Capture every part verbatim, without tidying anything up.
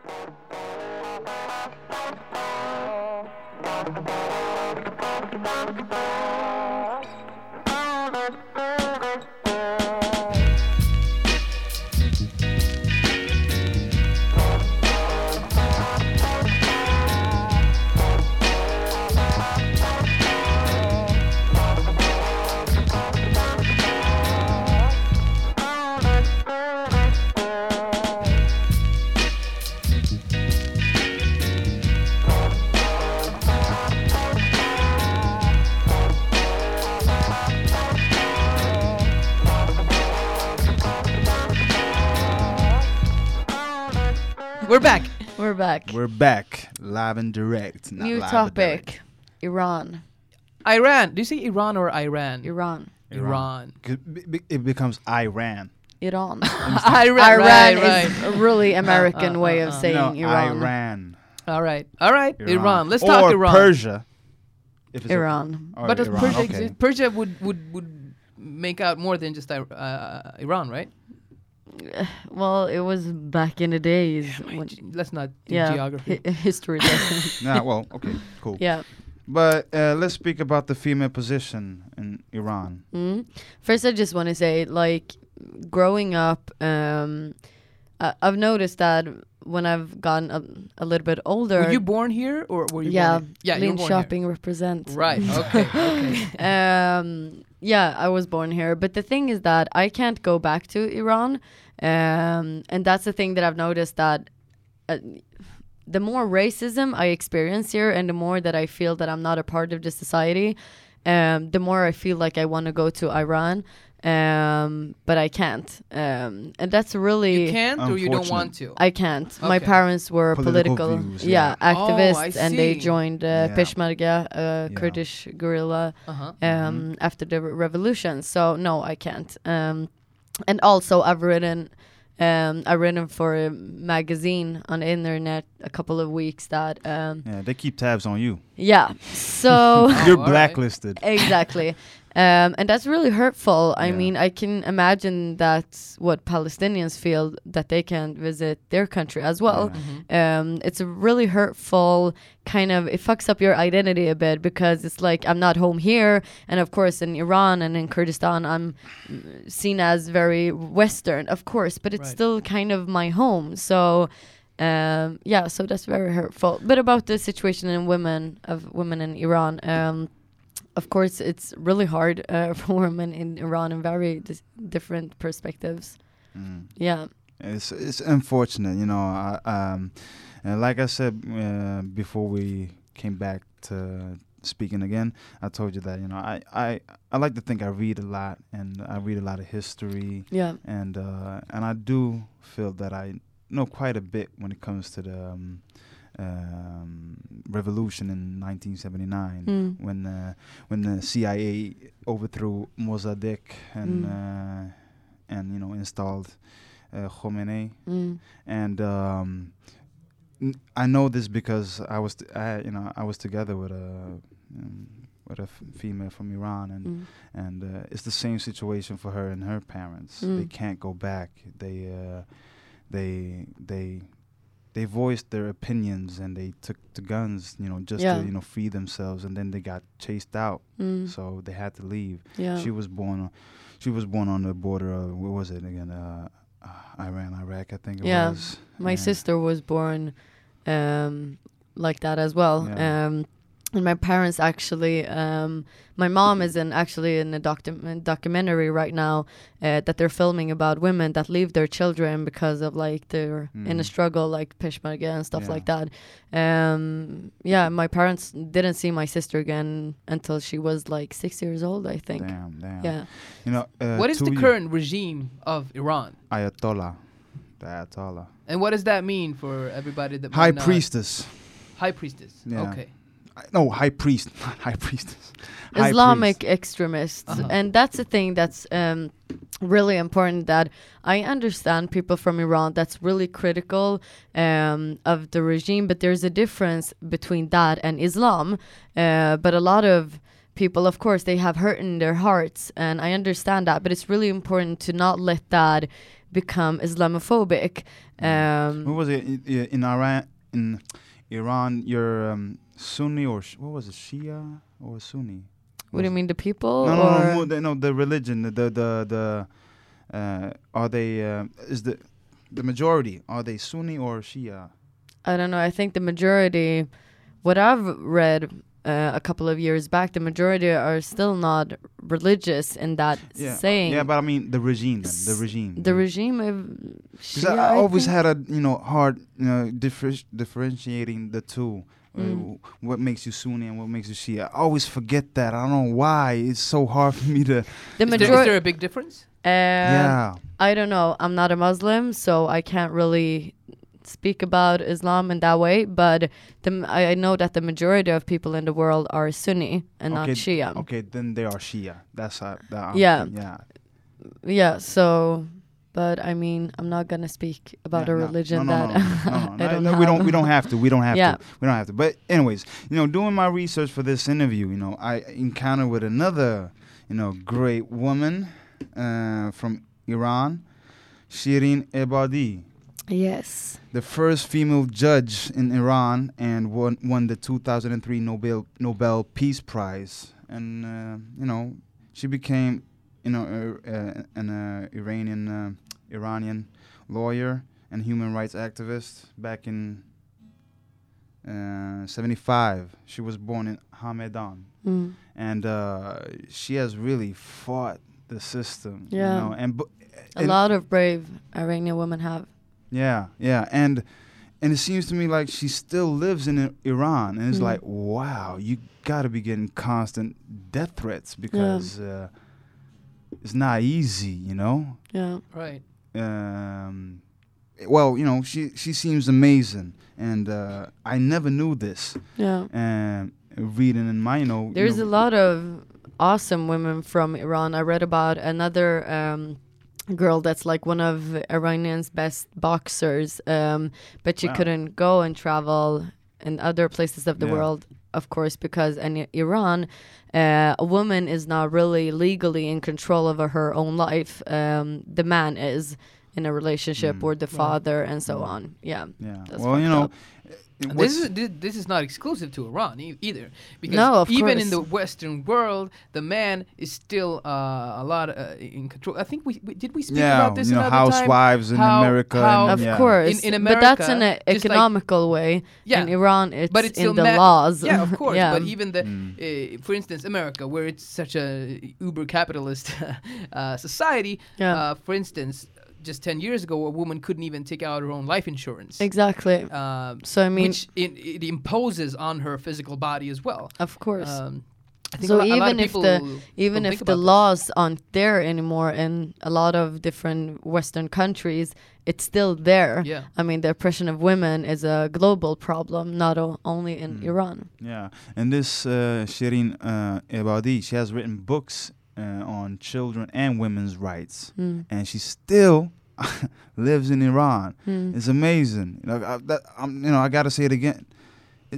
We're back. We're back. We're back, live and direct. Not New live topic. Iran. Iran. Do you say Iran or Iran? Iran. Iran. Iran. It becomes Iran. Iran. Iran. Iran right, is right. a really American uh, way uh, of uh. saying no, Iran. Iran. All right. All right. Iran. Iran. Let's or talk Iran. Persia. If it's Iran. A, or But does Iran, Persia okay. exist? Persia would, would, would make out more than just uh, Iran, right? Well, it was back in the days. Yeah, when, ge- let's not do yeah, geography. hi- history lesson. Nah, well, okay, cool. Yeah. But uh, let's speak about the female position in Iran. Mm. First, I just want to say, like, growing up, um, I- I've noticed that when I've gotten a, a little bit older. Were you born here or were you yeah, born here? Yeah, you were born Shopping represent. here. Right. Okay. Okay. um, yeah, I was born here. But the thing is that I can't go back to Iran. Um, and that's the thing that I've noticed, that uh, the more racism I experience here and the more that I feel that I'm not a part of the society, um, the more I feel like I want to go to Iran. Um, but I can't. Um, and that's really... You can't or you don't Unfortunate. want to? I can't. My Okay. parents were Political political, views, yeah, yeah. activists, Oh, I and they see. joined uh, Yeah. Peshmerga, uh, Yeah. Kurdish guerrilla, Uh-huh. um, after the re- revolution. So no, I can't. Um, and also, I've written, um, I've written for a magazine on the internet a couple of weeks that, um, Yeah, they keep tabs on you. yeah. So You're all right. blacklisted. exactly. Um, and that's really hurtful. I Yeah. mean, I can imagine that's what Palestinians feel, that they can't visit their country as well. Yeah. Um, it's a really hurtful kind of, it fucks up your identity a bit, because it's like, I'm not home here. And of course, in Iran and in Kurdistan, I'm mm, seen as very Western, of course, but it's Right. still kind of my home. So, um, yeah, so that's very hurtful. But about the situation in women, of women in Iran, um, of course, it's really hard uh, for women in Iran in very dis- different perspectives. Mm. Yeah. It's it's unfortunate, you know. I, um, and like I said uh, before we came back to speaking again, I told you that, you know, I, I, I like to think I read a lot, and I read a lot of history, Yeah. and uh, and I do feel that I know quite a bit when it comes to the um, um, revolution in nineteen seventy-nine, Mm. when uh, when the C I A overthrew Mossadegh and Mm. uh, and you know installed uh, Khomeini. Mm. And um, n- I know this because I was, t- I, you know, I was together with a um, with a f- female from Iran, and Mm. and uh, it's the same situation for her and her parents. They Mm. can't go back. They uh, they they they voiced their opinions, and they took to guns, you know, just Yeah. to you know free themselves, and then they got chased out, Mm. so they had to leave. Yeah. She was born, on, she was born on the border of, what was it again? Uh, uh, Iran, Iraq, I think it Yeah. was. My And- sister was born um, like that as well. Yeah. Um, and my parents actually, um, my mom is in actually in a docu- documentary right now uh, that they're filming about women that leave their children because of like they're in a Mm. struggle, like Peshmerga and stuff Yeah. like that. Um, yeah, my parents didn't see my sister again until she was like six years old, I think. Damn, damn. Yeah. You know, uh, What is two the ye- current regime of Iran? Ayatollah? The Ayatollah. And what does that mean for everybody that High might not- priestess. High priestess. Yeah. Okay. I- No, high priest, not high priestess. High Islamic priest. extremists. Uh-huh. And that's the thing that's um, really important, that I understand people from Iran that's really critical um, of the regime, but there's a difference between that and Islam. Uh, but a lot of people, of course, they have hurt in their hearts, and I understand that, but it's really important to not let that become Islamophobic. Um, What was it in, in Iran? In Iran, you're um, Sunni or sh- what was it, Shia or Sunni? what do you mean, the people? No, no, or no, more the, no, the religion, the the the, the uh, are they uh, is the the majority, are they Sunni or Shia? I don't know. I think the majority, what I've read uh, a couple of years back, the majority are still not religious in that Yeah, saying. yeah, but I mean the regime, then, the regime. The regime of 'Cause Shia, I, I always think? had a you know hard you know differ- differentiating the two. Uh, Mm. what makes you Sunni and what makes you Shia? I always forget that. I don't know why. It's so hard for me to. The Is there, is majority. there a big difference? yeah. I don't know. I'm not a Muslim, so I can't really speak about Islam in that way. But the, m- I, I know that the majority of people in the world are Sunni and not Okay, Shia. Okay, then they are Shia. That's uh, that, Yeah. yeah. Yeah. So, but I mean, I'm not gonna speak about Yeah, a no, religion no, no, that no, no, no, I no, don't no, have. we don't. We don't have to. We don't have Yeah. to. We don't have to. But anyways, you know, doing my research for this interview, you know, I encountered with another, you know, great woman uh, from Iran, Shirin Ebadi, Yes. the first female judge in Iran, and won won the two thousand three Nobel Nobel Peace Prize, and uh, you know, she became, you know, uh, uh, an uh, Iranian uh, Iranian lawyer and human rights activist back in uh, seventy-five. She was born in Hamedan, Mm. and uh, she has really fought the system. Yeah. You know, and, bu- A and lot of brave Iranian women have. yeah, yeah, and and it seems to me like she still lives in I- Iran, and it's Mm. like, wow, you got to be getting constant death threats because uh, it's not easy, you know. Yeah. Right. Um, well, you know, she she seems amazing, and uh, I never knew this. Yeah. And reading in my, you know, There's you a know, lot of awesome women from Iran. I read about another um, girl that's like one of Iranian's best boxers, um, but she Wow. couldn't go and travel in other places of the Yeah. world, of course, because in Iran, uh, a woman is not really legally in control of her own life. Um, the man is in a relationship Mm. or the father and so Mm. on. Yeah. yeah. That's Well, you fucked know, up. uh, And what's- this is this, this is not exclusive to Iran e- either, because No, of even in course. the Western world, the man is still uh, a lot uh, in control. I think we, we did we speak yeah, about this you know, another time? housewives in How- America. how- and, Of yeah. course, In- in but that's in America, an just like- economical way. Yeah, In Iran, it's, but it's in still the ma- laws. Yeah, of course. yeah. But even the, Mm. uh, for instance, America, where it's such a uber capitalist uh, society. Yeah. Uh, for instance, just ten years ago, a woman couldn't even take out her own life insurance. Exactly. Um, So I mean, which it, it imposes on her physical body as well. of course. Um, I think So a, lo- a lot even of if people the- Even don't if think the about this. laws aren't there anymore in a lot of different Western countries, it's still there. Yeah. I mean, the oppression of women is a global problem, not o- only in Mm. Iran. Yeah, and this uh, Shirin uh, Ebadi, she has written books uh, on children and women's rights, Mm. and she still lives in Iran. Mm. It's amazing. You know, I, that, I'm, you know, I gotta say it again. It,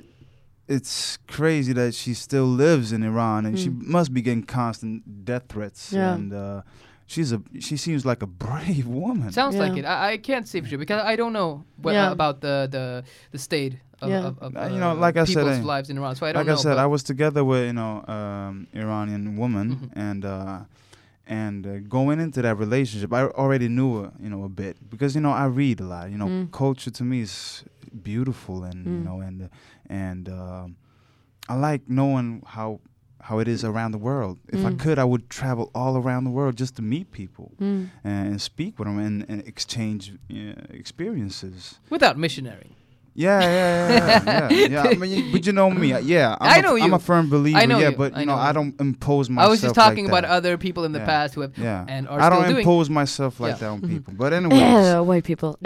it's crazy that she still lives in Iran, and she Mm. must be getting constant death threats. Yeah. And uh, she's a she seems like a brave woman. Sounds Yeah. like it. I, I can't say for sure because I don't know wha- Yeah. about the, the, the state of, Yeah. of, of Uh, you know, uh, like I said, people's uh, lives in Iran. So I don't like know. I said, but I was together with you know um, Iranian woman, Mhm. and uh, and uh, going into that relationship, I already knew her, you know a bit because you know I read a lot. You know, Mm. culture to me is beautiful, and you Mm. know, and and um, I like knowing how how it is around the world. If I Mm. could, I would travel all around the world just to meet people Mm. and speak with them and, and exchange uh, experiences. without missionary. Yeah, yeah, yeah, yeah. yeah. yeah. I mean, you- but you know me. uh, Yeah, I'm I a- know I'm you. a firm believer. I know yeah, you. but I you know, know I you. don't impose myself. I was just talking like about that. other people in the Yeah. past who have Yeah, and are I still don't doing. impose myself like Yeah. that on Mhm. people. But anyways, Uh, white people.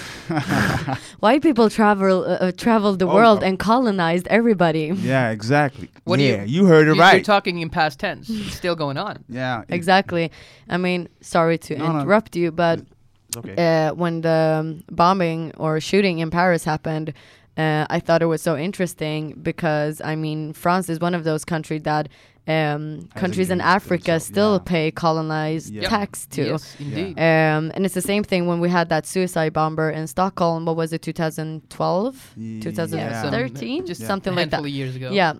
White people travel uh, uh, traveled the Oh, world uh, and colonized everybody. yeah, exactly. What do yeah, you- you, heard it You- You're right. talking in past tense. It's still going on. yeah, it- Exactly. I mean, sorry to No, no. interrupt you, but It's okay. uh, when the um, bombing or shooting in Paris happened, uh, I thought it was so interesting because, I mean, France is one of those countries that um, countries in against Africa themselves, still yeah. pay colonized Yeah. tax to. Yes, indeed. Um, and it's the same thing when we had that suicide bomber in Stockholm. What was it, twenty twelve? Ye- twenty some- thirteen? just Yeah. Something a like that. handful of years ago. Yeah.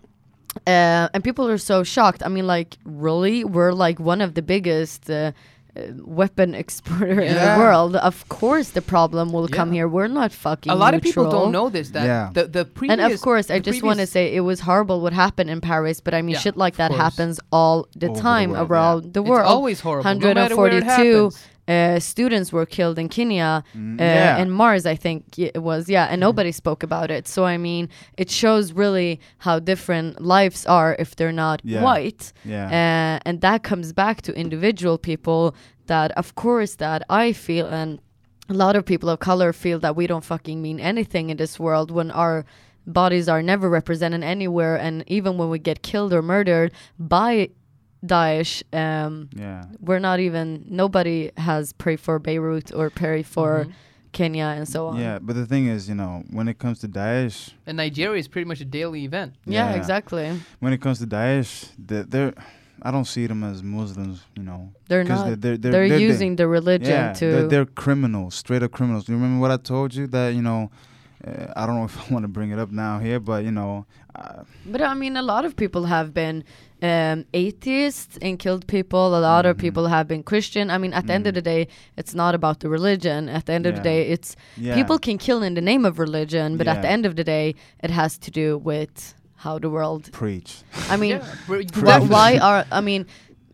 Uh, and people are so shocked. I mean, like, really? We're like one of the biggest uh, uh, weapon exporter in the Yeah. world. Of course the problem will come Yeah. here. We're not fucking A lot of people neutral. don't know this. That Yeah. the the previous And of course, I the just want to previous- say it was horrible what happened in Paris, but I mean, Yeah, shit like of that course. happens all the Over the time world, around the it's world. always horrible. No matter where it one hundred forty-two happens. uh, students were killed in Kenya, Mm, uh, yeah. in Mars, I think y- it was, yeah, Mm-hmm. and nobody spoke about it. So I mean, it shows really how different lives are if they're not Yeah. white, Yeah. uh, and that comes back to individual people. That of course that I feel, and a lot of people of color feel that we don't fucking mean anything in this world when our bodies are never represented anywhere, and even when we get killed or murdered by Daesh, um, yeah. we're not even, nobody has prayed for Beirut or prayed for Mhm. Kenya and so on. Yeah, but the thing is, you know, when it comes to Daesh, And Nigeria is pretty much a daily event. Yeah, Yeah. exactly. when it comes to Daesh, they're, they're I don't see them as Muslims, you know, They're 'cause not. they're, they're, They're, they're using the religion yeah, to. they're, they're criminals, straight up criminals. You remember what I told you that you know? Uh, I don't know if I want to bring it up now here, but you know, uh, But I mean, a lot of people have been um, atheists and killed people. A lot of Mhm. people have been Christian. I mean, at the end of Mhm. the day, it's not about the religion. At the end of the Yeah. day, it's yeah, people can kill in the name of religion, but at the Yeah. end of the day, it has to do with how the world. preach. I mean, Yeah, br- why, definitely. why are I mean?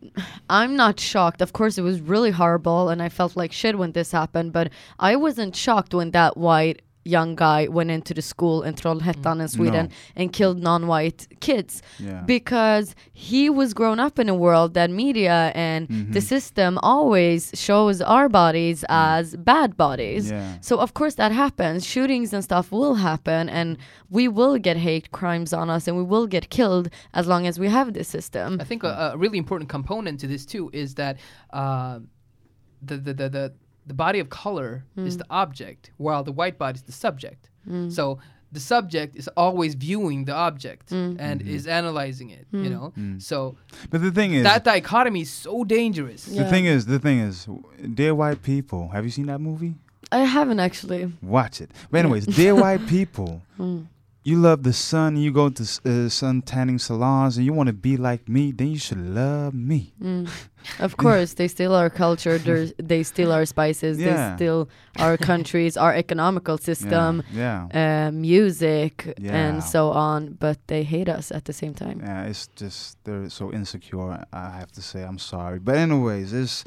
I'm not shocked. Of course, it was really horrible, and I felt like shit when this happened. But I wasn't shocked when that white young guy went into the school in Trollhättan in Sweden No. and killed non-white kids, Yeah, because he was grown up in a world that media and the Mhm. system always shows our bodies Mm. as bad bodies. yeah, So of course that happens. Shootings and stuff will happen, and we will get hate crimes on us, and we will get killed as long as we have this system. I think a, a really important component to this too is that uh, the, the the the the body of color is the object, while the white body is the subject. So the subject is always viewing the object and is analyzing it. You know, so but the thing is, that dichotomy is so dangerous. the Yeah. thing is, the thing is, Dear White People. Have you seen that movie? I haven't actually. Watch it. But anyways, Dear White People. You love the sun, you go to s- uh, sun tanning salons, and you want to be like me, then you should love me. Mm. Of course, they steal our culture. they're- They steal our spices. They Yeah. steal our countries, our economical system, Yeah, yeah. uh, music, Yeah. and so on. But they hate us at the same time. Yeah, it's just they're so insecure. I have to say, I'm sorry, but anyways, it's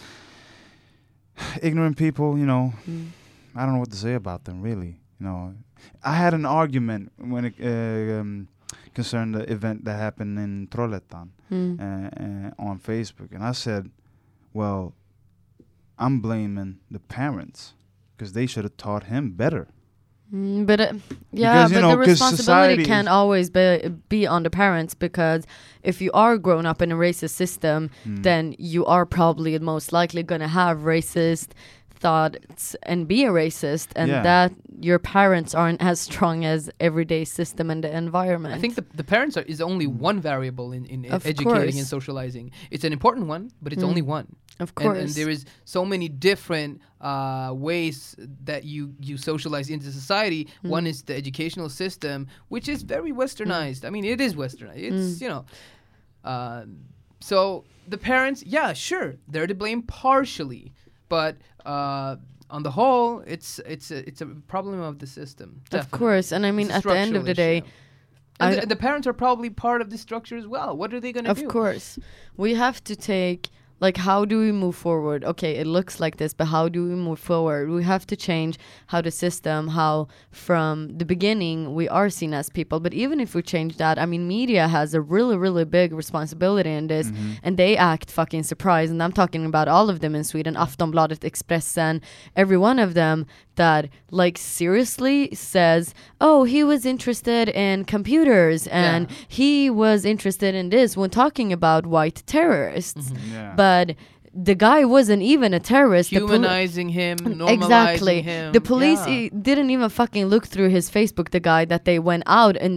ignorant people. You know, Mm. I don't know what to say about them. Really, you know, I had an argument when it uh, um, concerned the event that happened in Trollhättan Mm. uh, uh, on Facebook, and I said, "Well, I'm blaming the parents because they should have taught him better." Mm, but uh, yeah, Because, you but know, the 'cause responsibility society can't is- always be be on the parents, because if you are grown up in a racist system, Mm. then you are probably most likely gonna have racist thoughts and be a racist, and Yeah. that your parents aren't as strong as everyday system and the environment. I think the, the parents are, is only one variable in, in Of educating course. and socializing. It's an important one, but it's Mm. only one. of And, course, and there is so many different uh, ways that you, you socialize into society. Mm. One is the educational system, which is very westernized. I mean, it is westernized. It's, Mm. you know. Uh, so the parents, yeah, sure, they're to blame partially. But uh, on the whole, it's it's a, it's a problem of the system. of definitely. course, and I mean, It's a at the end of the structural day, issue. And I- the, the parents are probably part of the structure as well. What are they going to of do? course, we have to take, like, how do we move forward? Okay, it looks like this, but how do we move forward? We have to change how the system, how from the beginning we are seen as people. But even if we change that, I mean, media has a really, really big responsibility in this, and they act fucking surprised. And I'm talking about all of them in Sweden, Aftonbladet, Expressen, every one of them that, like, seriously says, oh, he was interested in computers and Yeah. he was interested in this when talking about white terrorists. Yeah. But the guy wasn't even a terrorist. The poli- Humanizing him, normalizing exactly. him. The police Yeah. e- didn't even fucking look through his Facebook, the guy that they went out and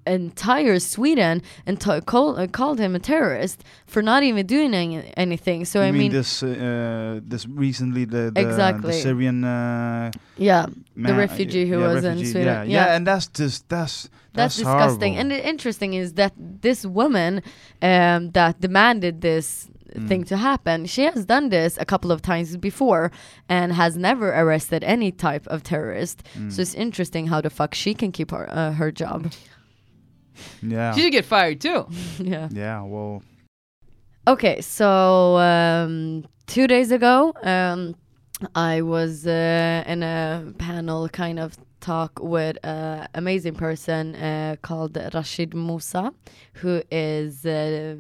entire Sweden and t- call, uh, called him a terrorist for not even doing any- anything. So you I mean, mean, this uh, this recently the the, Exactly. the Syrian uh, yeah, man, refugee who yeah, was in refugee, Sweden. Yeah, Yeah. yeah, and that's just that's that's that's, disgusting. horrible. And the interesting is that this woman um, that demanded this Mm. thing to happen, she has done this a couple of times before and has never arrested any type of terrorist. Mm. So it's interesting how the fuck she can keep her uh, her job. yeah, She should get fired too. Yeah. yeah. Well, Okay, so um, two days ago, um, I was uh, in a panel kind of talk with an amazing person uh, called Rashid Musa, who is uh,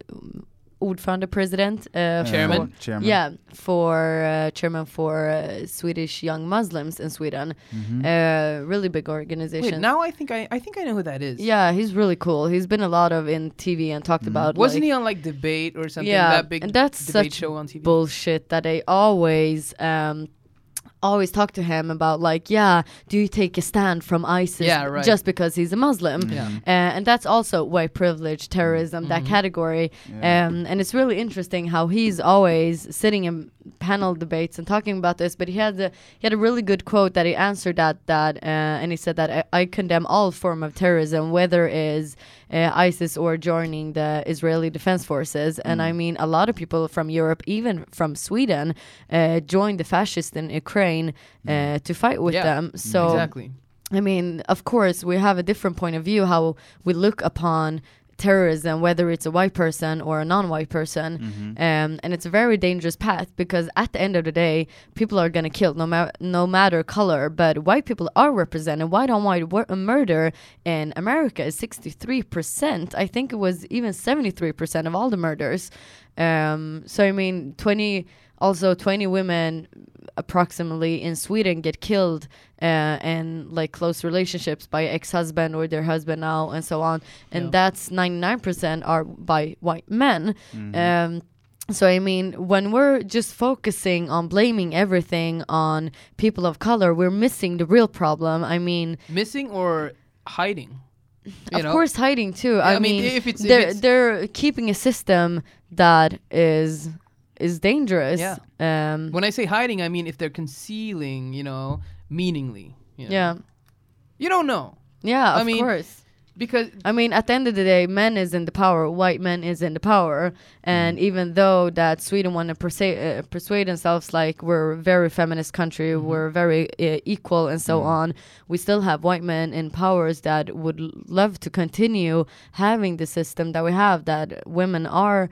ordförande president. Uh, Chairman. for- chairman. Yeah, for uh, chairman for uh, Swedish young Muslims in Sweden. Mhm. Uh, really big organization. Wait, now I think I I think I know who that is. Yeah, he's really cool. He's been a lot of in T V and talked Mhm. about. Wasn't like, he on like debate or something? Yeah, that big and that's debate such show on T V. bullshit that they always um always talk to him about, like, yeah, do you take a stand from ISIS Yeah, right. just because he's a Muslim? Mhm. Yeah. Uh, and that's also white privilege, terrorism, that Mhm. category. Yeah. Um, and it's really interesting how he's always sitting in panel debates and talking about this. But he had a, he had a really good quote that he answered that that uh, and he said that I, I condemn all form of terrorism, whether is uh, ISIS or joining the Israeli Defense Forces. And Mm. I mean, a lot of people from Europe, even from Sweden, uh, joined the fascists in Ukraine uh, to fight with Yeah, them. So exactly. I mean, of course, we have a different point of view how we look upon terrorism, whether it's a white person or a non-white person. Mhm. Um, and it's a very dangerous path because at the end of the day, people are going to kill no, ma- no matter color. But white people are represented. White on white wor- murder in America is sixty-three percent. I think it was even seventy-three percent of all the murders. Um, so, I mean, twenty, also twenty women approximately in Sweden get killed uh, in like close relationships by ex-husband or their husband now and so on. And Yeah. that's ninety-nine percent are by white men. Mhm. Um, so I mean, when we're just focusing on blaming everything on people of color, we're missing the real problem. I mean, Missing or hiding? You of know? course, hiding too. Yeah, I, I mean, mean, if it's- if they're it's- they're keeping a system that is is dangerous. Yeah. Um, When I say hiding, I mean if they're concealing, you know, meaningly. You know? yeah. You don't know Yeah. I Of mean, course. because I mean, at the end of the day, men is in the power, white men is in the power, and even though that Sweden want to persuade, uh, persuade themselves like we're a very feminist country, Mhm. we're very uh, equal and so Mm. on, we still have white men in powers that would l- love to continue having the system that we have, that women are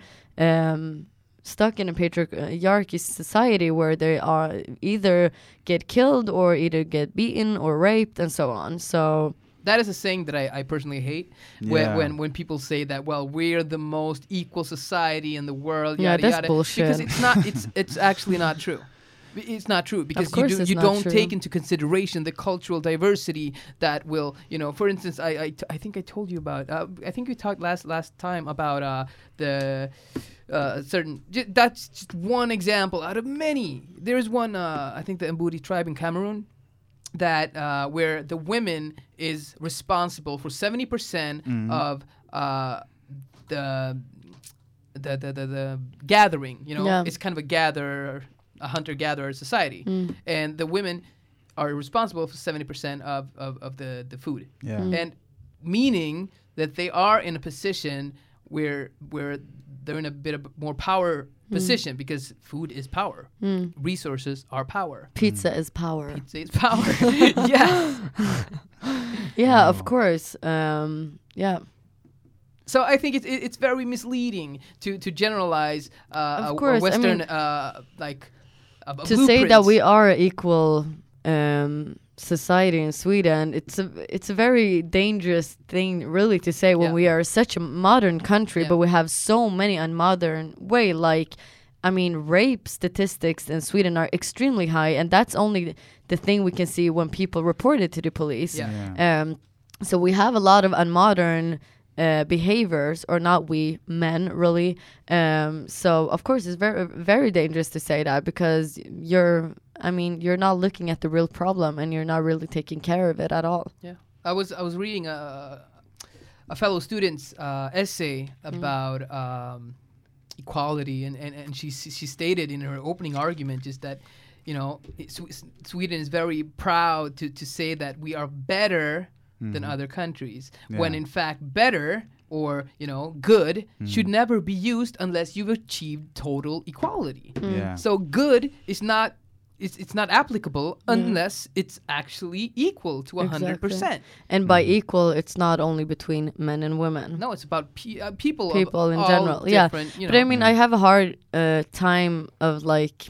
um, stuck in a patriarchy society where they are either get killed or either get beaten or raped and so on. So that is a saying that I, I personally hate. When, Yeah. when when people say that, well, we're the most equal society in the world. Yeah, Yada, that's yada, bullshit. Because it's not. It's it's actually not true. It's not true because you course do it's you not don't true. take into consideration the cultural diversity that will, you know. For instance, I I, t- I think I told you about. Uh, I think we talked last last time about uh, the. Uh, certain j- that's just one example out of many. There's one uh, I think the Mbudi tribe in Cameroon that uh, where the women is responsible for seventy percent Mhm. of uh, the, the the the the gathering. You know, Yeah. it's kind of a gather, a hunter gatherer society, Mm. and the women are responsible for seventy percent of, of of the the food, Yeah. Mm. and meaning that they are in a position where where they're in a bit of more power position because food is power, mm. resources are power. Pizza is power. Pizza is power. Yes. Yeah, of Wow. course. Um, yeah, So I think it's it- it's very misleading to to generalize uh, Of a- a, course, I Western mean, uh, like a, a to say that blueprint. we are an equal um, society in Sweden, it's a it's a very dangerous thing, really, to say when Yeah. we are such a modern country, Yeah. but we have so many unmodern way. Like, I mean, rape statistics in Sweden are extremely high, and that's only the thing we can see when people report it to the police. Yeah. Yeah. Um, so we have a lot of unmodern uh, behaviors, or not we men really. Um, so of course it's very very dangerous to say that because you're, I mean, you're not looking at the real problem and you're not really taking care of it at all. Yeah, I was I was reading a a fellow student's uh, essay about um, equality, and, and, and she she stated in her opening argument just that, you know, it, Sw- Sweden is very proud to, to say that we are better mm-hmm. than other countries, yeah. when in fact better or, you know, good mm. should never be used unless you've achieved total equality. Mm. Yeah. So good is not it's it's not applicable yeah. unless it's actually equal to one hundred percent. And by equal, it's not only between men and women. No, it's about pe- uh, people people of in all general. Yeah. You know. But I mean, I have a hard uh, time of like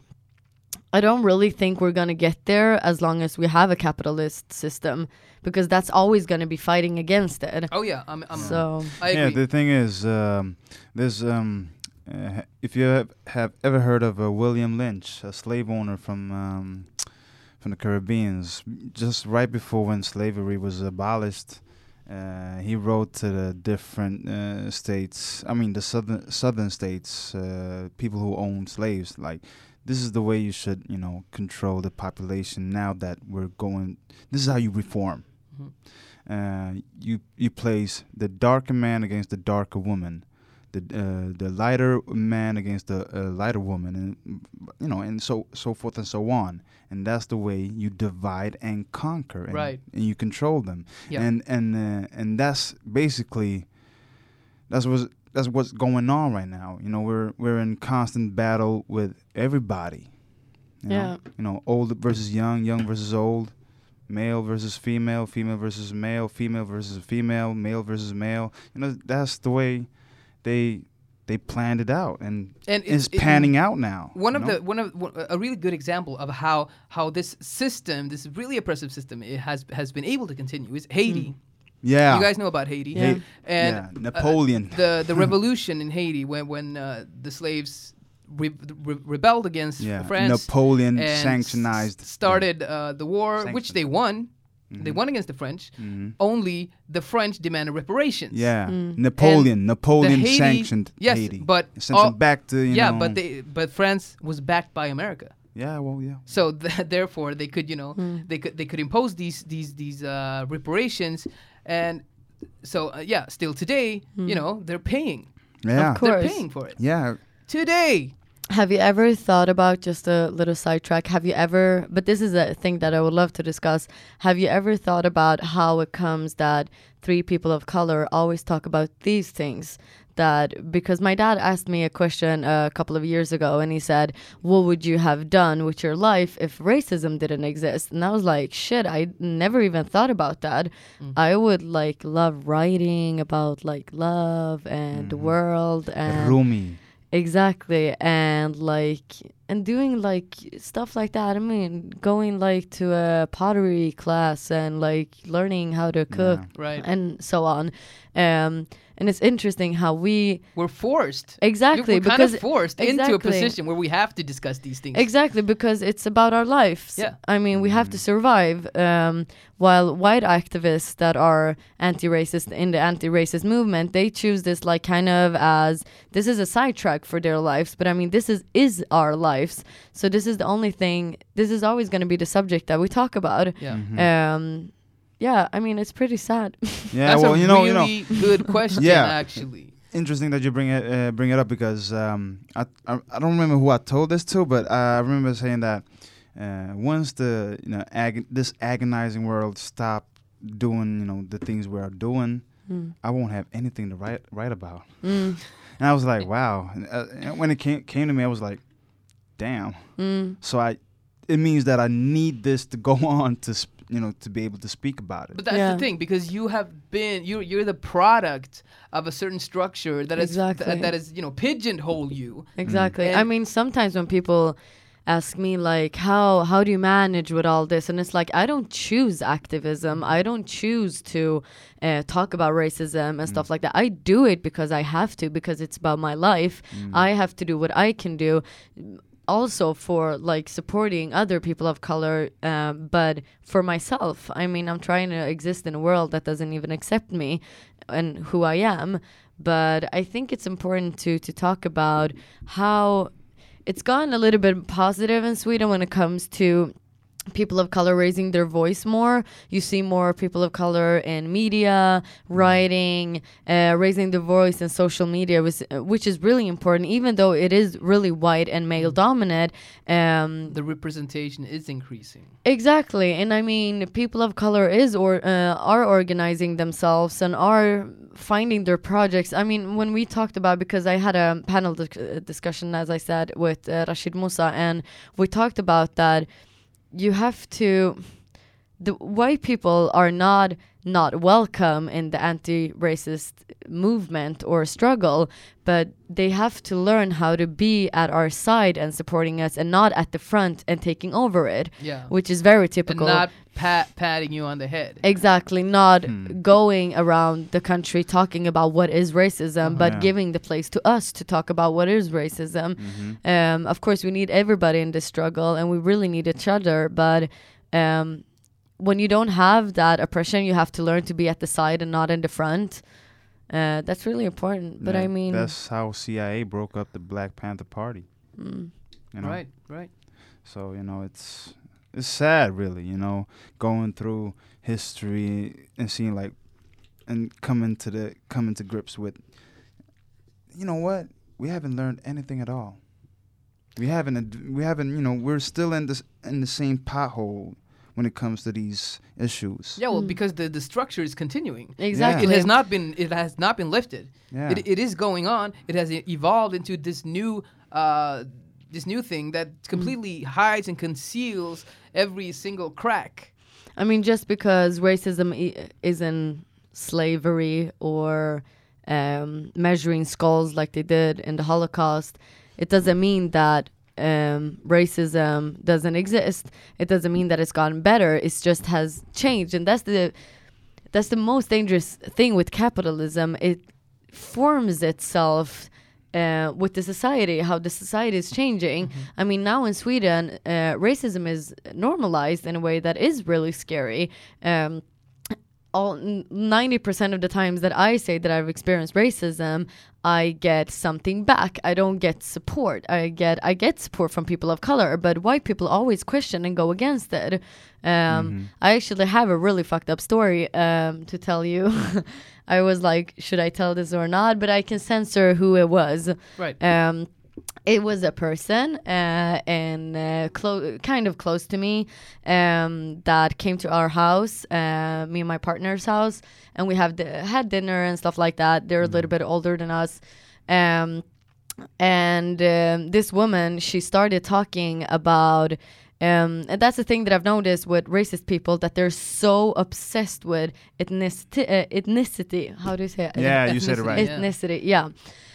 I don't really think we're going to get there as long as we have a capitalist system, because that's always going to be fighting against it. Oh yeah, I'm, I'm so I agree. Yeah, the thing is, um, there's um, uh, if you have, have ever heard of uh, William Lynch, a slave owner from um, from the Caribbeans, just right before when slavery was abolished, uh, he wrote to the different uh, states. I mean, the southern southern states, uh, people who owned slaves, like. This is the way you should, you know, control the population now that we're going. This is how you reform. Mm-hmm. Uh, you you place the darker man against the darker woman, the uh, the lighter man against the uh, lighter woman, and you know, and so so forth and so on. And that's the way you divide and conquer, and, right? And you control them. Yeah. And and uh, and that's basically that's what's. That's what's going on right now. You know, we're we're in constant battle with everybody. You yeah. know? You know, old versus young, young versus old, male versus female, female versus male, female versus female, male versus male. You know, that's the way they they planned it out, and, and it's, it's panning it, out now. One of know? the one of w- a really good example of how how this system, this really oppressive system, it has has been able to continue is Haiti. Mm. Yeah, you guys know about Haiti, yeah. and yeah. Napoleon. Uh, the the revolution in Haiti when when uh, the slaves re- re- rebelled against yeah. France. Napoleon and sanctionized s- started uh, the war, Sanctioned. which they won. Mm-hmm. They won against the French. Mm-hmm. Only the French demanded reparations. Yeah, mm. Napoleon. And Napoleon Haiti, sanctioned yes, Haiti. but sent all, them back to you yeah, know. but they but France was backed by America. Yeah, well, yeah. So th- therefore, they could you know mm. they could they could impose these these these uh, reparations, and so uh, yeah, still today, mm. you know, they're paying. Yeah, of course. They're paying for it. Yeah, today. Have you ever thought about, just a little sidetrack, have you ever, but this is a thing that I would love to discuss, have you ever thought about how it comes that three people of color always talk about these things? That, because my dad asked me a question a couple of years ago, and he said, what would you have done with your life if racism didn't exist? And I was like, shit, I never even thought about that. Mm. I would like love writing about like love and mm. the world and Rumi. Exactly. And like, and doing like stuff like that. I mean, going like to a pottery class and like learning how to cook, yeah. right, and so on. Um, and it's interesting how we we're forced exactly we're kind because of forced exactly. into a position where we have to discuss these things. Exactly, because it's about our lives. Yeah, I mean, we have to survive. Um, while white activists that are anti-racist in the anti-racist movement, they choose this like kind of as this is a sidetrack for their lives. But I mean, this is is our lives. So this is the only thing. This is always going to be the subject that we talk about. Yeah. Mm-hmm. Um. Yeah, I mean, it's pretty sad. Yeah, that's well, a you know, really you know. good question, yeah. actually. Interesting that you bring it uh, bring it up because um, I, I I don't remember who I told this to, but I remember saying that uh, once the you know ag- this agonizing world stop doing you know the things we are doing, mm. I won't have anything to write write about. Mm. And I was like, wow. And, uh, and when it came came to me, I was like, damn. Mm. So I, it means that I need this to go on to. Sp- you know, to be able to speak about it. But that's yeah. the thing, because you have been, you're, you're the product of a certain structure that exactly. is, th- that is, you know, pigeonhole you. Exactly. Mm. I mean, sometimes when people ask me like, how, how do you manage with all this? And it's like, I don't choose activism. I don't choose to uh, talk about racism and mm. stuff like that. I do it because I have to, because it's about my life. Mm. I have to do what I can do. Also for like supporting other people of color, um, but for myself, I mean, I'm trying to exist in a world that doesn't even accept me and who I am. But I think it's important to to talk about how it's gone a little bit positive in Sweden when it comes to people of color raising their voice more. You see more people of color in media, writing, uh, raising their voice in social media, was, uh, which is really important, even though it is really white and male dominant. Um, The representation is increasing. exactly, and I mean, people of color is or uh, are organizing themselves and are finding their projects. I mean, when we talked about, because I had a panel dis- uh, discussion, as I said, with uh, Rashid Musa, and we talked about that. You have to, the white people are not not welcome in the anti-racist movement or struggle, but they have to learn how to be at our side and supporting us, and not at the front and taking over it. Yeah. Which is very And typical. not pat patting you on the head. Exactly, not Hmm. going around the country talking about what is racism, Uh-huh. but Yeah. giving the place to us to talk about what is racism. Mhm. Um, of course, we need everybody in this struggle, and we really need each other. But um, when you don't have that oppression, you have to learn to be at the side and not in the front. Uh, that's really important. But Yeah, I mean, that's how C I A broke up the Black Panther Party. mm, You know? Right, right. So you know, it's it's sad, really. You know, going through history and seeing like, and coming to the coming to grips with, you know what, we haven't learned anything at all. We haven't. ad- We haven't. You know, we're still in this in the same pothole when it comes to these issues. Yeah, well, Mm. because the, the structure is continuing. exactly. It has not been. It has not been lifted. Yeah. It, it is going on. It has e- evolved into this new, uh, this new thing that completely hides and conceals every single crack. I mean, just because racism I- isn't slavery or um, measuring skulls like they did in the Holocaust, it doesn't mean that um, racism doesn't exist. It doesn't mean that it's gotten better. It just has changed, and that's the that's the most dangerous thing with capitalism. It forms itself uh, with the society, how the society is changing. I mean, now in Sweden, uh, racism is normalized in a way that is really scary. Um, all ninety percent of the times that I say that I've experienced racism, I get something back. I don't get support. I get I get support from people of color, but white people always question and go against it. Um, Mhm. I actually have a really fucked up story um, to tell you. I was like, should I tell this or not? But I can censor who it was. Right. Um, it was a person uh, and uh, clo- kind of close to me um, that came to our house, uh, me and my partner's house, and we have di- had dinner and stuff like that. They're a little bit older than us. Um, and um, this woman, she started talking about um, and that's the thing that I've noticed with racist people, that they're so obsessed with ethnicity. Uh, ethnicity. How do you say it? Yeah, you said it right. Yeah. Ethnicity. Yeah.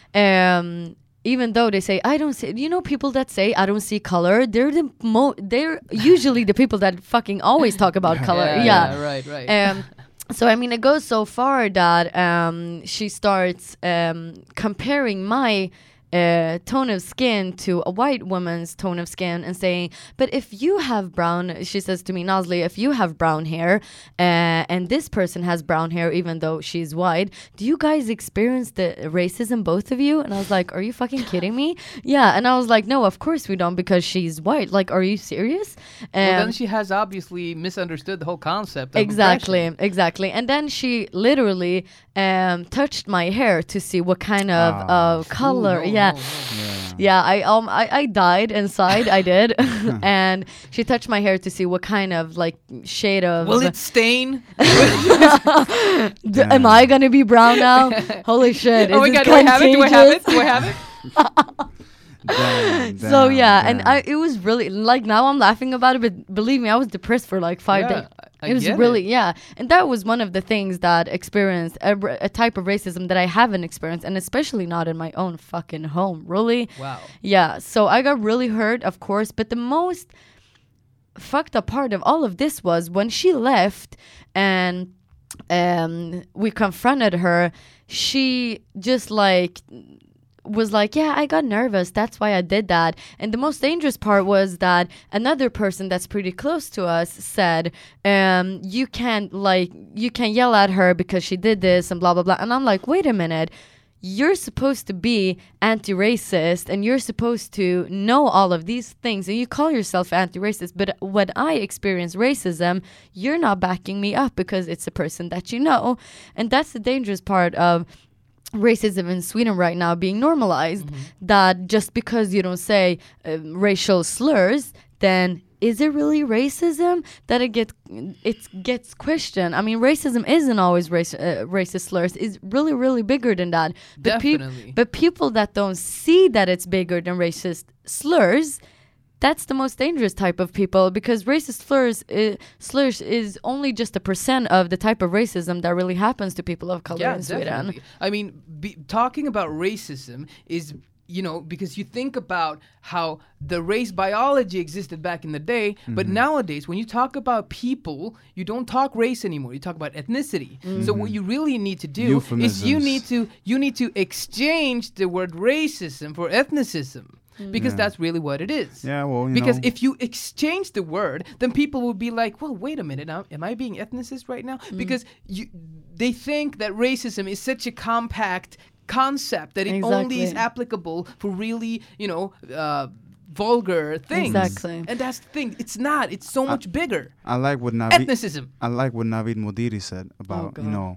Um, even though they say I don't see, you know, people that say I don't see color, they're the mo. They're usually the people that fucking always talk about color. Yeah, Yeah. yeah, right, right. Um, so I mean, it goes so far that um, she starts um, comparing my uh, tone of skin to a white woman's tone of skin and saying, but if you have brown, she says to me, Nazli, if you have brown hair uh, and this person has brown hair, even though she's white, do you guys experience the racism, both of you? And I was like, are you fucking kidding me? Yeah. And I was like, no, of course we don't, because she's white. Like, are you serious? Well, Um, then she has obviously misunderstood the whole concept. Of Exactly, oppression. exactly. And then she literally um, touched my hair to see what kind of Ah. uh, color. Ooh, no, yeah, no, no. Yeah. yeah. I um I, I died inside. I did, and she touched my hair to see what kind of like shade of. Will it stain? D- am I gonna be brown now? Holy shit! oh my is god, this do I have it? Do I have it? contagious? Do I have it? Damn, So damn, yeah, and damn. I it was really like, now I'm laughing about it, but believe me, I was depressed for like five Yeah, days. I It was get really yeah, and that was one of the things that experienced a, r- a type of racism that I haven't experienced, and especially not in my own fucking home. Really, Wow. yeah. So I got really hurt, of course, but the most fucked up part of all of this was when she left and um we confronted her. She just like was like, yeah, I got nervous, that's why I did that. And the most dangerous part was that another person that's pretty close to us said, um you can't like you can yell at her because she did this and blah blah blah. And I'm like, wait a minute, you're supposed to be anti-racist and you're supposed to know all of these things and you call yourself anti-racist, but when I experience racism, you're not backing me up because it's a person that you know. And that's the dangerous part of racism in Sweden right now being normalized, mm-hmm. that just because you don't say uh, racial slurs, then is it really racism that it gets it gets questioned? I mean, racism isn't always race, uh, racist slurs. It's really, really bigger than that. But Definitely. Pe- but people that don't see that it's bigger than racist slurs, that's the most dangerous type of people, because racist slurs, uh, slurs is only just a percent of the type of racism that really happens to people of color yeah, in Sweden. Definitely. I mean, be, talking about racism is, you know, because you think about how the race biology existed back in the day, mm-hmm. but nowadays when you talk about people, you don't talk race anymore. You talk about ethnicity. Mm-hmm. So what you really need to do is you need to you need to exchange the word racism for ethnicism. Because yeah. that's really what it is. Yeah, well, you because know. if you exchange the word, then people will be like, well, wait a minute, now, am I being ethnicist right now? Mm. Because you, they think that racism is such a compact concept that it exactly. only is applicable for really, you know, uh, vulgar things. Exactly. And that's the thing. It's not. It's so much I, bigger. I like what Navid... Ethnicism. I like what Navid Modiri said about, oh, you know,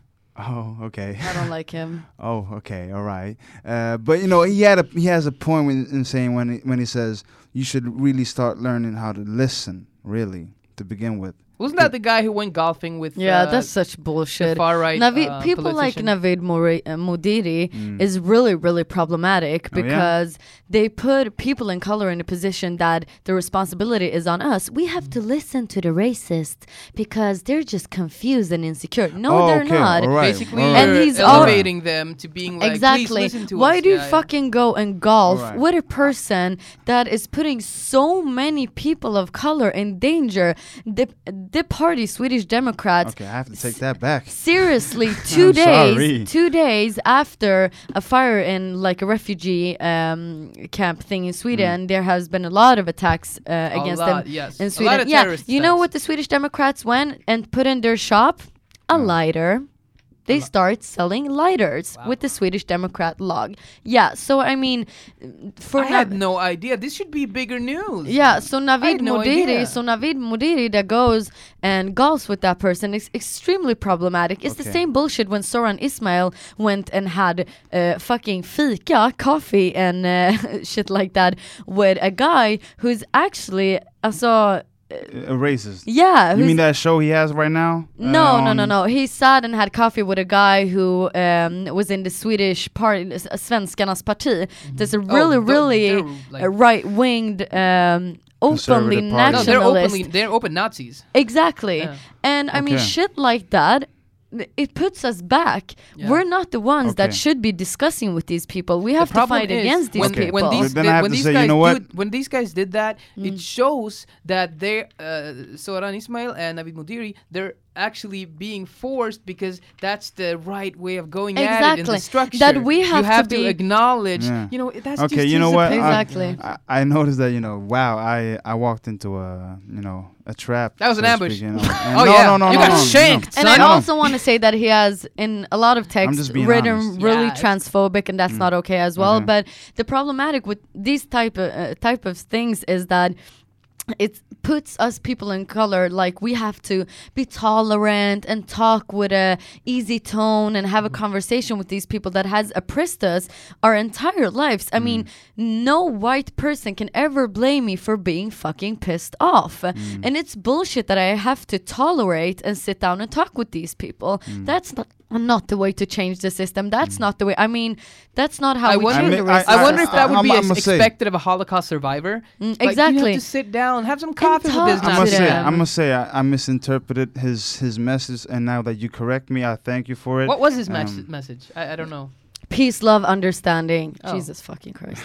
oh, okay. I don't like him. Oh, okay, all right. Uh, but you know, he had a he has a point when, in saying when he, when he says you should really start learning how to listen, really, to begin with. Wasn't that the guy who went golfing with? Yeah, uh, that's such bullshit. Far right. Navid, uh, people politician. like Navid Mori- uh, Modiri Mm. is really, really problematic Oh, yeah? because they put people in color in a position that the responsibility is on us. We have to listen to the racists because they're just confused and insecure. No, Oh, they're okay, not. all right, Basically, all And you're he's all- elevating them to being like, exactly. please listen to Why us. do you Yeah, yeah. fucking go and golf Alright. with a person that is putting so many people of color in danger? The the party, Swedish Democrats. Okay, I have to take that back. Seriously, two I'm days, sorry. two days after a fire in like a refugee um, camp thing in Sweden, Mm. there has been a lot of attacks uh, A against lot, them yes. in A lot Sweden. of Yeah, terrorist you know attacks. what the Swedish Democrats went and put in their shop? A No. lighter. They li- start selling lighters Wow. with the Swedish Democrat log. Yeah, so I mean, for I had Nav- no idea. This should be bigger news. yeah, so I Navid had no Modiri, idea. so Navid Modiri that goes and golfs with that person is extremely problematic. It's the Okay. same bullshit when Soran Ismail went and had uh, fucking fika, coffee and uh, shit like that with a guy who's actually, also, A racist. yeah. You who's- mean that show he has right now? no, Uh, no, no, on- no. He sat and had coffee with a guy who um, was in the Swedish party, uh, Svenskarnas parti. There's a really, Oh, th- really they're like- uh, right-winged, um, openly Conservative party. No, they're nationalist. openly they're open Nazis. Exactly. Yeah. And I mean, Okay. shit like that, th- it puts us back. Yeah. We're not the ones that Okay. should be discussing with these people. We have The to problem fight is against these when, Okay. people. when these Then I the- have when to these say, you guys know what? do- when these guys did that, Mm. it shows that they uh, Soran Ismail and Navid Modiri, they're actually being forced because that's the right way of going at it in Exactly. the structure. That we have you have to to, be- acknowledge. Yeah. You know, that's Okay, just you know his what? I- opinion. Exactly. I, I noticed that, you know, wow, I, I walked into a, you know, a trap. That was so an to ambush. speak, you know. And Oh, no, yeah. no, no, You no, got no, shanked, And no. I No, no. also want to say that he has, in a lot of texts, just being written honest. really Yeah, it's- transphobic, and that's Mm. not okay as well. Okay. But the problematic with these type of uh, type of things is that it puts us people in color like we have to be tolerant and talk with a easy tone and have a conversation with these people that has oppressed us our entire lives. I mean, no white person can ever blame me for being fucking pissed off. And it's bullshit that I have to tolerate and sit down and talk with these people. That's not not the way to change the system. That's not the way. I mean, that's not how I we wonder, change I the mean, I- racism I wonder if that would I'm- be I'm ex- gonna say- expected of a Holocaust survivor. Mm, Like, you exactly. have to sit down, have some coffee with talk this to I'm Nazi. gonna say, them. I'm gonna say, I, I misinterpreted his his message, and now that you correct me, I thank you for it. What was his mes- Um, message? I, I don't know. Peace, love, understanding. Oh. Jesus fucking Christ.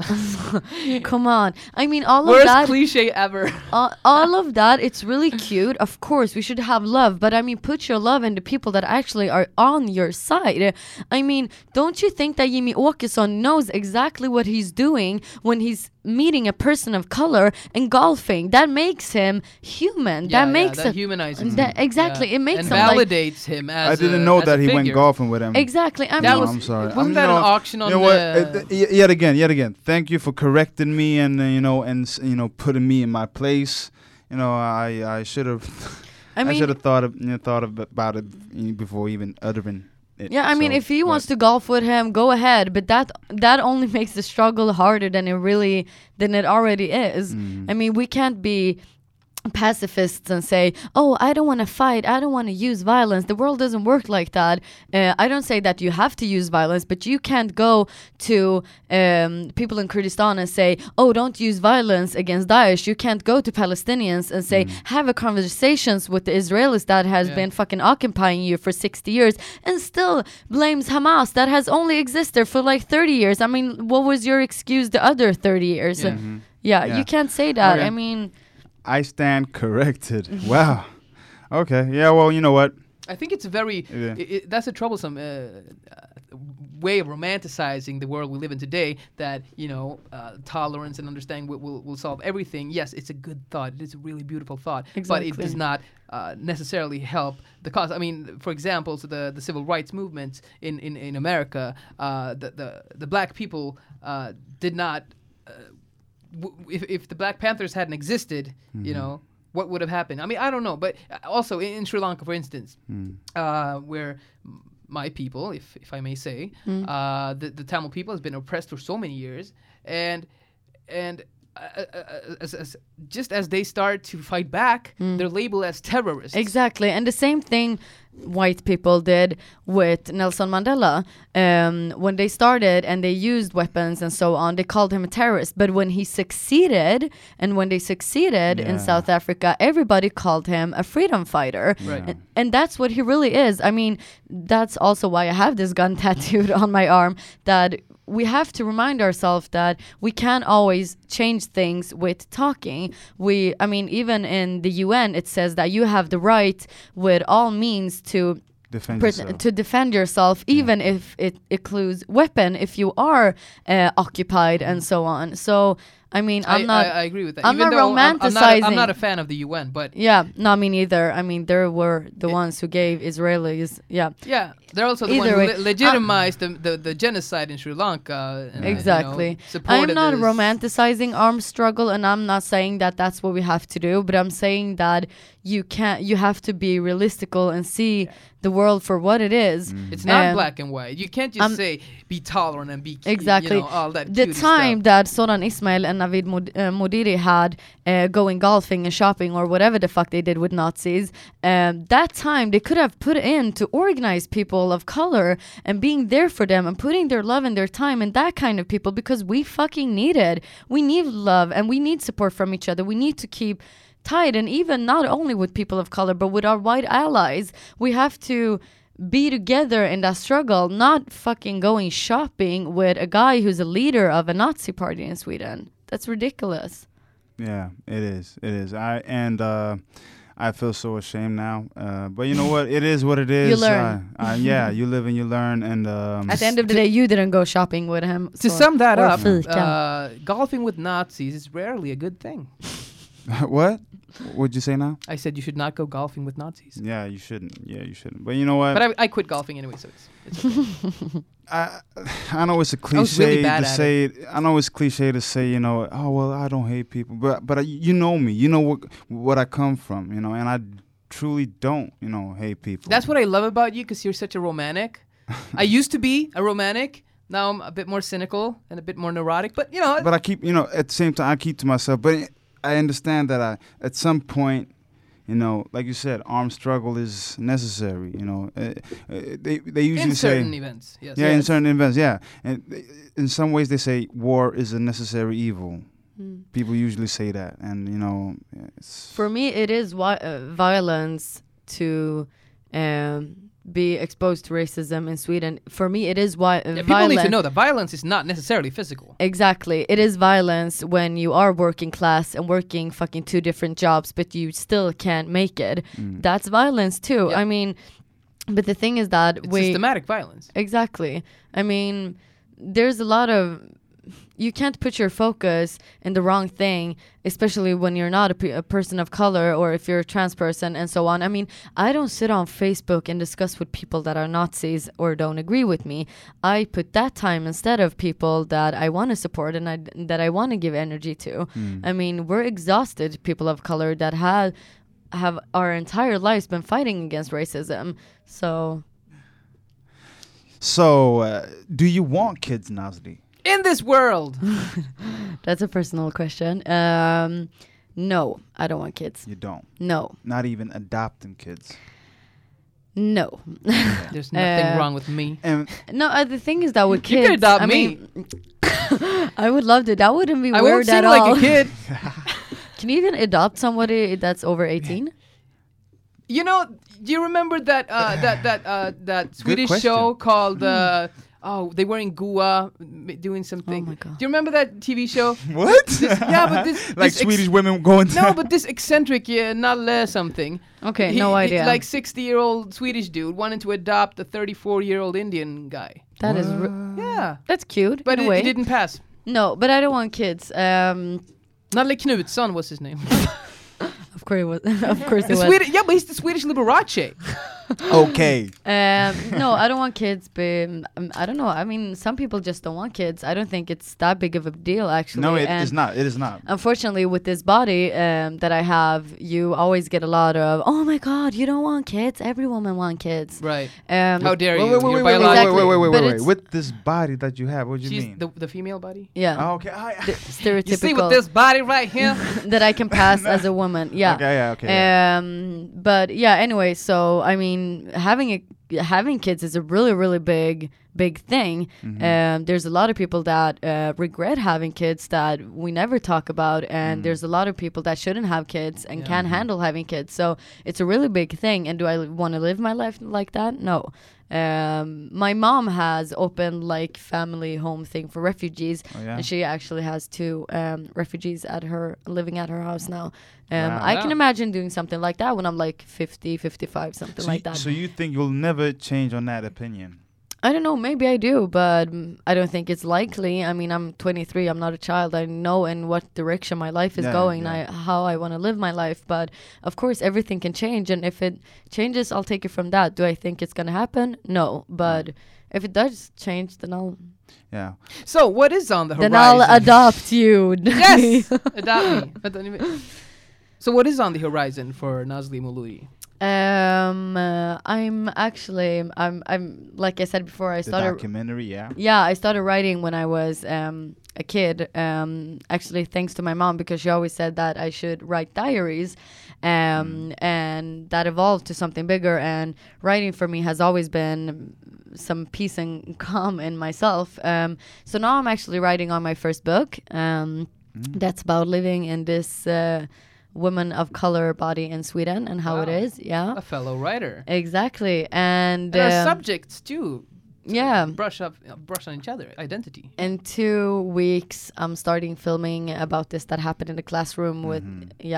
Come on. I mean, all of Worst that, cliche ever. all, all of that, it's really cute. Of course, we should have love. But I mean, put your love in the people that actually are on your side. I mean, don't you think that Jimmy Åkesson knows exactly what he's doing when he's meeting a person of color and golfing. That makes him human. Yeah, that yeah, makes that a, humanizes him. that, exactly. Yeah. It makes and him like validates him as I didn't a, know as that a he went figure. golfing with him. exactly. I That mean, was- I'm sorry. wasn't I'm, that you an know, auction on you know what? the- Uh, y- yet again, yet again. Thank you for correcting me and uh, you know and s- you know putting me in my place. You know, I I should have I I, mean, should have thought of you know, thought of, about it you know, before even uttering it. yeah, I mean, So, if he but- wants to golf with him, go ahead. But that that only makes the struggle harder than it really than it already is. Mm. I mean, we can't be pacifists and say, oh, I don't want to fight, I don't want to use violence. The world doesn't work like that. uh, I don't say that you have to use violence, but you can't go to um, people in Kurdistan and say, oh, don't use violence against Daesh. You can't go to Palestinians and say, have a conversations with the Israelis that has Yeah. been fucking occupying you for sixty years and still blames Hamas that has only existed for like thirty years. I mean, what was your excuse the other thirty years? Yeah. Mhm. Yeah, Yeah. you can't say that. Okay. I mean, I stand corrected. Wow. Okay. Yeah. Well, you know what? I think it's a very Yeah. i i that's a troublesome uh, uh, way of romanticizing the world we live in today. That you know, uh, tolerance and understanding will, will will solve everything. Yes, it's a good thought. It is a really beautiful thought, but it Exactly. does not uh, necessarily help the cause. I mean, for example, so the the civil rights movement in in in America, uh, the the the black people uh, did not. Uh, w- if if the Black Panthers hadn't existed, you know, what would have happened? I mean, I don't know. But uh, also in, in Sri Lanka, for instance, uh, where m- my people, if if I may say, uh, the the Tamil people has been oppressed for so many years, and and uh, uh, as, as, just as they start to fight back, they're labeled as terrorists. exactly. And the same thing white people did with Nelson Mandela. Um, when they started and they used weapons and so on, they called him a terrorist. But when he succeeded, and when they succeeded in Yeah. South Africa, everybody called him a freedom fighter. Right. And, and that's what he really is. I mean, that's also why I have this gun tattooed on my arm, that we have to remind ourselves that we can't always change things with talking. We, I mean, even in the U N, it says that you have the right with all means to Defend pret- yourself. to defend yourself, even if it includes weapon, if you are uh, occupied and so on. So, I mean, I'm I, not. I, I agree with that. I'm Even not though I'm, I'm, not a, I'm romanticizing. not a fan of the U N, but yeah, not me neither. I mean, there were the It- ones who gave Israelis. Yeah, yeah, they're also the Either one who way, le- legitimized the, the the genocide in Sri Lanka. And, uh, exactly. You know, supported I'm not this- romanticizing armed struggle, and I'm not saying that that's what we have to do. But I'm saying that you can't. You have to be realistical and see the world for what it is. It's not Um, black and white. You can't just I'm- say be tolerant and be cute, Exactly. You know, all that The cutie time stuff. that Soran Ismail and Navid Mod- uh, Modiri had uh, going golfing and shopping or whatever the fuck they did with Nazis, um, that time they could have put in to organize people of color and being there for them and putting their love and their time in that kind of people, because we fucking need it. We need love and we need support from each other. We need to keep tight, and even not only with people of color but with our white allies. We have to be together in that struggle, not fucking going shopping with a guy who's a leader of a Nazi party in Sweden. That's ridiculous. Yeah, it is. It is. I and uh, I feel so ashamed now. Uh, but you know what? It is what it is. You learn. Uh, uh, yeah, you live and you learn. And um, At the end of the day, you didn't go shopping with him. To so- sum that or up, fika. uh, golfing with Nazis is rarely a good thing. what? What'd you say now? I said you should not go golfing with Nazis. Yeah, you shouldn't. Yeah, you shouldn't. But you know what? But I, I quit golfing anyway, so it's, it's I I know it's a I was really cliche bad to at say. I know it's cliche to say. You know, oh well, I don't hate people, but but I, you know me. You know what what I come from. You know, and I truly don't. You know, hate people. That's what I love about you, because you're such a romantic. I used to be a romantic. Now I'm a bit more cynical and a bit more neurotic. But you know, But I keep, you know, at the same time, I keep to myself. But I understand that I, at some point, you know, like you said, armed struggle is necessary. You know, uh, uh, they they usually in say, certain events, yes. yeah, in Yes. certain events, yeah. And they- in some ways, they say war is a necessary evil. Mm. People usually say that, and you know, it's For me, it is wi- uh, violence to um, be exposed to racism in Sweden. For me, it is why uh, Yeah, people violence. need to know that violence is not necessarily physical. Exactly. It is violence when you are working class and working fucking two different jobs, but you still can't make it. Mm. That's violence too. Yeah. I mean, but the thing is that It's we systematic violence. exactly. I mean, there's a lot of you can't put your focus in the wrong thing, especially when you're not a, pe- a person of color or if you're a trans person and so on. I mean, I don't sit on Facebook and discuss with people that are Nazis or don't agree with me. I put that time instead of people that I want to support and I, that I want to give energy to. Mm. I mean, we're exhausted people of color that have have our entire lives been fighting against racism. So So, uh, do you want kids, Nazli? In this world. that's a personal question. Um, no, I don't want kids. You don't. No, Not even adopting kids. no. There's nothing Uh, wrong with me. And No, uh, the thing is that with You kids, could adopt I me. mean, I would love to. That wouldn't be I weird won't seem at all. like a kid. Can you even adopt somebody that's over eighteen? You know, do you remember that uh, that that uh, that Swedish question. show called? Uh, oh, they were in Goa m- doing something. Oh my God. Do you remember that T V show? what? Yeah, but this like this ex- Swedish women going to No, but this eccentric uh, Nalle something. Okay, He- no he- idea. Like sixty-year-old Swedish dude wanted to adopt a thirty-four-year-old Indian guy. That is, r- Yeah, that's cute. but in a it, way. it didn't pass. No, but I don't want kids. Um, Nalle Knutsson was his name. of course it was. Of course The it was. Swedish, yeah, but he's the Swedish Liberace. Okay. Um, no, I don't want kids, but um, I don't know. I mean, some people just don't want kids. I don't think it's that big of a deal, actually. No, it And is not. It is not. unfortunately, with this body um, that I have, you always get a lot of, oh my God, you don't want kids. Every woman wants kids. Right. Um, How dare Wait, you? wait, wait, You're wait, wait, wait, biological. wait, wait, wait, But wait, wait. it's- With this body that you have, what do you She's mean? the, the female body. Yeah. Oh, okay. I, The You see stereotypical with this body right here? that I can pass as a woman. Yeah. Okay, yeah, okay. yeah. Um, but yeah, anyway, so I mean, having a having kids is a really, really big, big thing. Mhm. Um, there's a lot of people that uh, regret having kids that we never talk about, and Mm. there's a lot of people that shouldn't have kids and Yeah. can't handle having kids. So it's a really big thing. And do I want to live my life like that? No. Um, my mom has opened like family home thing for refugees, Oh, yeah. and she actually has two um, refugees at her living at her house now. Um, Wow. I can Wow. imagine doing something like that when I'm like fifty, fifty-five, something So, like you, that. so you think you'll never change on that opinion? I don't know, maybe I do, but mm, I don't think it's likely. I mean, I'm twenty-three, I'm not a child. I know in what direction my life is Yeah, going, yeah. I, how I want to live my life. But of course, everything can change. And if it changes, I'll take it from that. Do I think it's going to happen? No. But if it does change, then I'll, Yeah. So what is on the horizon? then I'll adopt you. Yes, adopt me. Vänta, ni vet- So what is on the horizon for Nazli Mouloudi? Um, uh, I'm actually, I'm, I'm like I said before, I The started. documentary, yeah. Yeah, I started writing when I was um, a kid. Um, actually, thanks to my mom, because she always said that I should write diaries, um, and that evolved to something bigger. And writing for me has always been some peace and calm in myself. Um, so now I'm actually writing on my first book. Um, Mm. that's about living in this uh, woman of color body in Sweden and how it Wow. is. Yeah, A fellow writer. exactly. And, And our um, subjects too. yeah. Brush up, uh, brush on each other. Identity. In two weeks, I'm starting filming about this that happened in the classroom with, Mhm. yeah.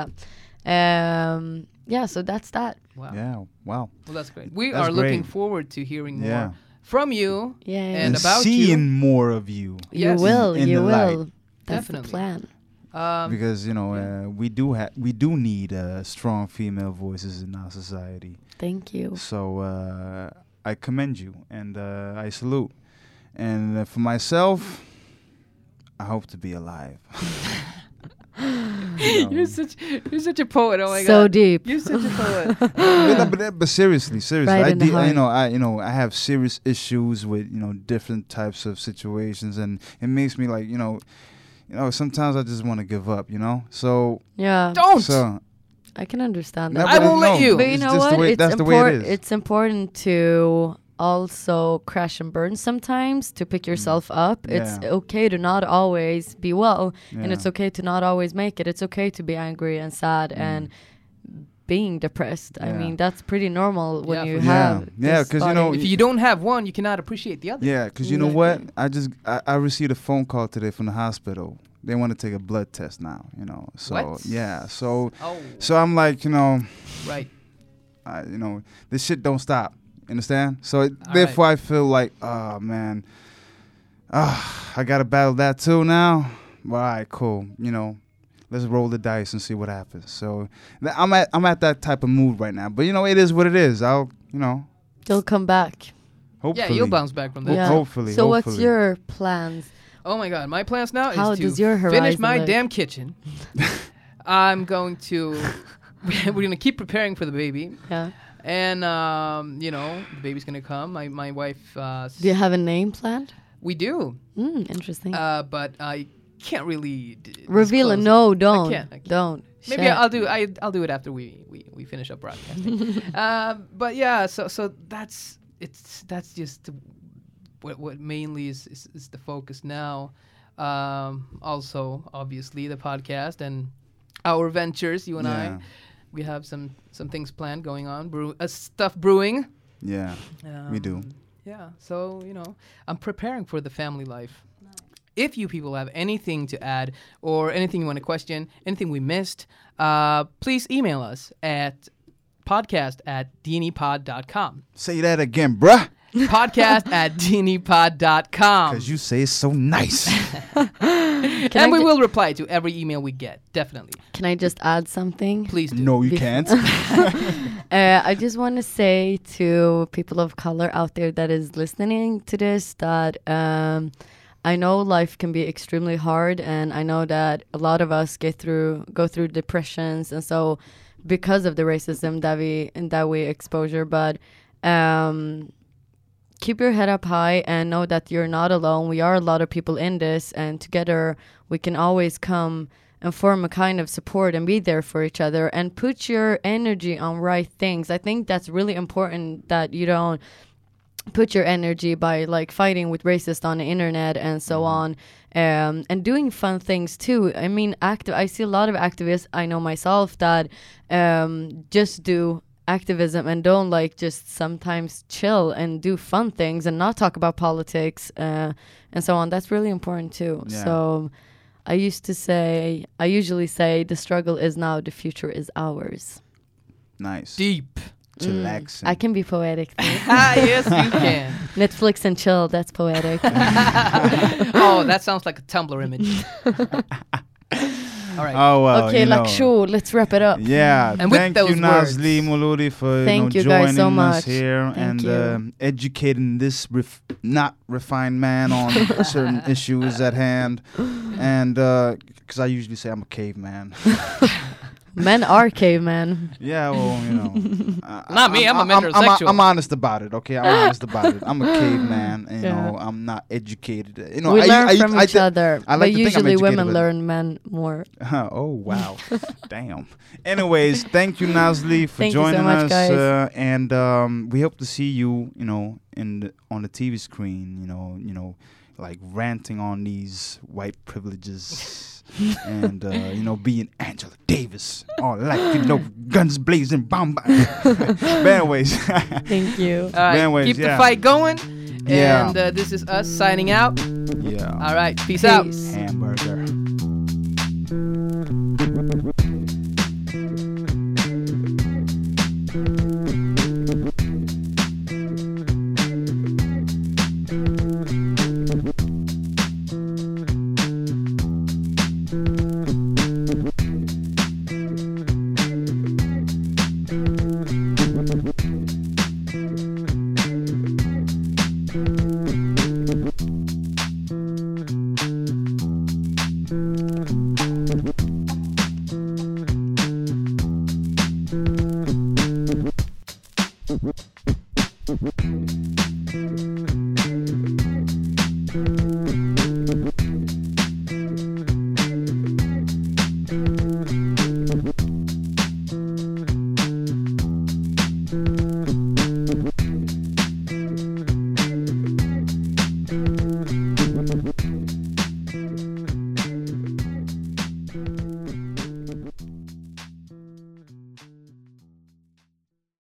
Um, yeah, so that's that. Wow. Yeah. Wow. Well, that's great. We That's are looking great. forward to hearing Yeah. more from you. Yeah. And And, about seeing you. more of you. You Yes. will, In you the will. light. That's Definitely. the plan. Um, Because you know uh, we do have we do need uh, strong female voices in our society. Thank you. So uh, I commend you and uh, I salute. And uh, for myself, I hope to be alive. You know. you're such you're such a poet. Oh my so god. deep. You're such a poet. but, no, but, uh, but seriously, seriously, Right I in the de- heart. you know, I you know, I have serious issues with you know different types of situations, and it makes me like you know, you know, sometimes I just want to give up, you know. So, Yeah, Don't. so I can understand No, that. I but won't no, let you. But you it's know just the what? way- it's that's the way it important. is. It's important to also crash and burn sometimes to pick yourself up. It's Mm. Yeah. okay to not always be well, and Yeah. it's okay to not always make it. It's okay to be angry and sad Mm. and being depressed. I Yeah. mean, that's pretty normal when Yeah, you for sure. have. Yeah. Yeah, this 'cause, you body. know, If you don't have one, you cannot appreciate the other. Yeah, because you know what? Exactly. I just I, I received a phone call today from the hospital. They want to take a blood test now, you know. So What? yeah, so Oh, so I'm like, you know, right. I, you know, this shit don't stop. Understand? So it, All therefore, I feel like, oh man, Ah, I gotta battle that too now. Well, all right, cool. You know, let's roll the dice and see what happens. So th- I'm at I'm at that type of mood right now. But you know, it is what it is. I'll you know. You'll come back. Hopefully. Yeah, you'll bounce back from that. Yeah. Hopefully. So what's hopefully. your plans? Oh my God, my plans now How is to does your finish horizon my look? damn kitchen. I'm going to. We're gonna keep preparing for the baby, Yeah. and um, you know, the baby's gonna come. My my wife. Uh, s- Do you have a name planned? we do, Mm, interesting. uh, but I can't really d- Reveal it. disclose No, don't. can't, I can't. Don't. Maybe Shit. I'll do. I I'll do it after we we, we finish up broadcasting. um, but yeah, so so that's it's that's just the, what what mainly is, is is the focus now. Um, also, obviously, the podcast and our ventures. You and Yeah. I, we have some some things planned going on. Brew uh, stuff brewing. Yeah. We do. Um, Yeah. So you know, I'm preparing for the family life. If you people have anything to add or anything you want to question, anything we missed, uh, please email us at podcast at d n e pod dot com. Say that again, bruh. Podcast at d n e pod dot com. Because you say it so nice. Can And I we ju- will reply to every email we get. Definitely. Can I just add something? Please do. No, you Bef- can't. Uh, I just want to say to people of color out there that is listening to this that um, I know life can be extremely hard, and I know that a lot of us get through go through depressions, and so because of the racism that we that we exposure, but. Um, keep your head up high and know that you're not alone. We are a lot of people in this, and together we can always come and form a kind of support and be there for each other and put your energy on right things. I think that's really important, that you don't put your energy by like fighting with racists on the internet and so on, um, and doing fun things too. I mean, active. I see a lot of activists, I know myself, that um, just do activism and don't like just sometimes chill and do fun things and not talk about politics uh, and so on. That's really important too. Yeah. So I used to say, I usually say the struggle is now, the future is ours. Nice. Deep. Chillaxing. I can be poetic too. Ah, yes, you can. Netflix and chill, that's poetic. Oh, that sounds like a Tumblr image. All right. Oh, well. Okay, you know. Lakshu, let's wrap it up. Yeah, And with thank those you, Nazli words- Muludi, for Thank you you know, guys joining so us much. here Thank and you. um, educating this ref- not refined man on certain issues at hand. And because I usually say I'm a caveman. Men are cavemen. Yeah, well, you know. uh, Not me, I'm a I'm, metrosexual. I'm honest about it, okay? I'm honest about it. I'm a caveman, and, you Yeah. know, I'm not educated. You know, we I, learn I, from I, each I, other, I like but to think I'm usually educated, women but- learn men more. oh, wow. Damn. Anyways, thank you, Nazli, for Thank you so joining much, us. guys. Uh, and um, we hope to see you, you know, in the, on the T V screen, you know, you know, like ranting on these white privileges. and uh, you know, being Angela Davis, all like you know, guns blazing, bomb. But anyways, Thank you. All right. anyways, Keep yeah. the fight going. Yeah. And uh, this is us signing out. yeah, All right. Peace out. Peace. hamburger. Thank you.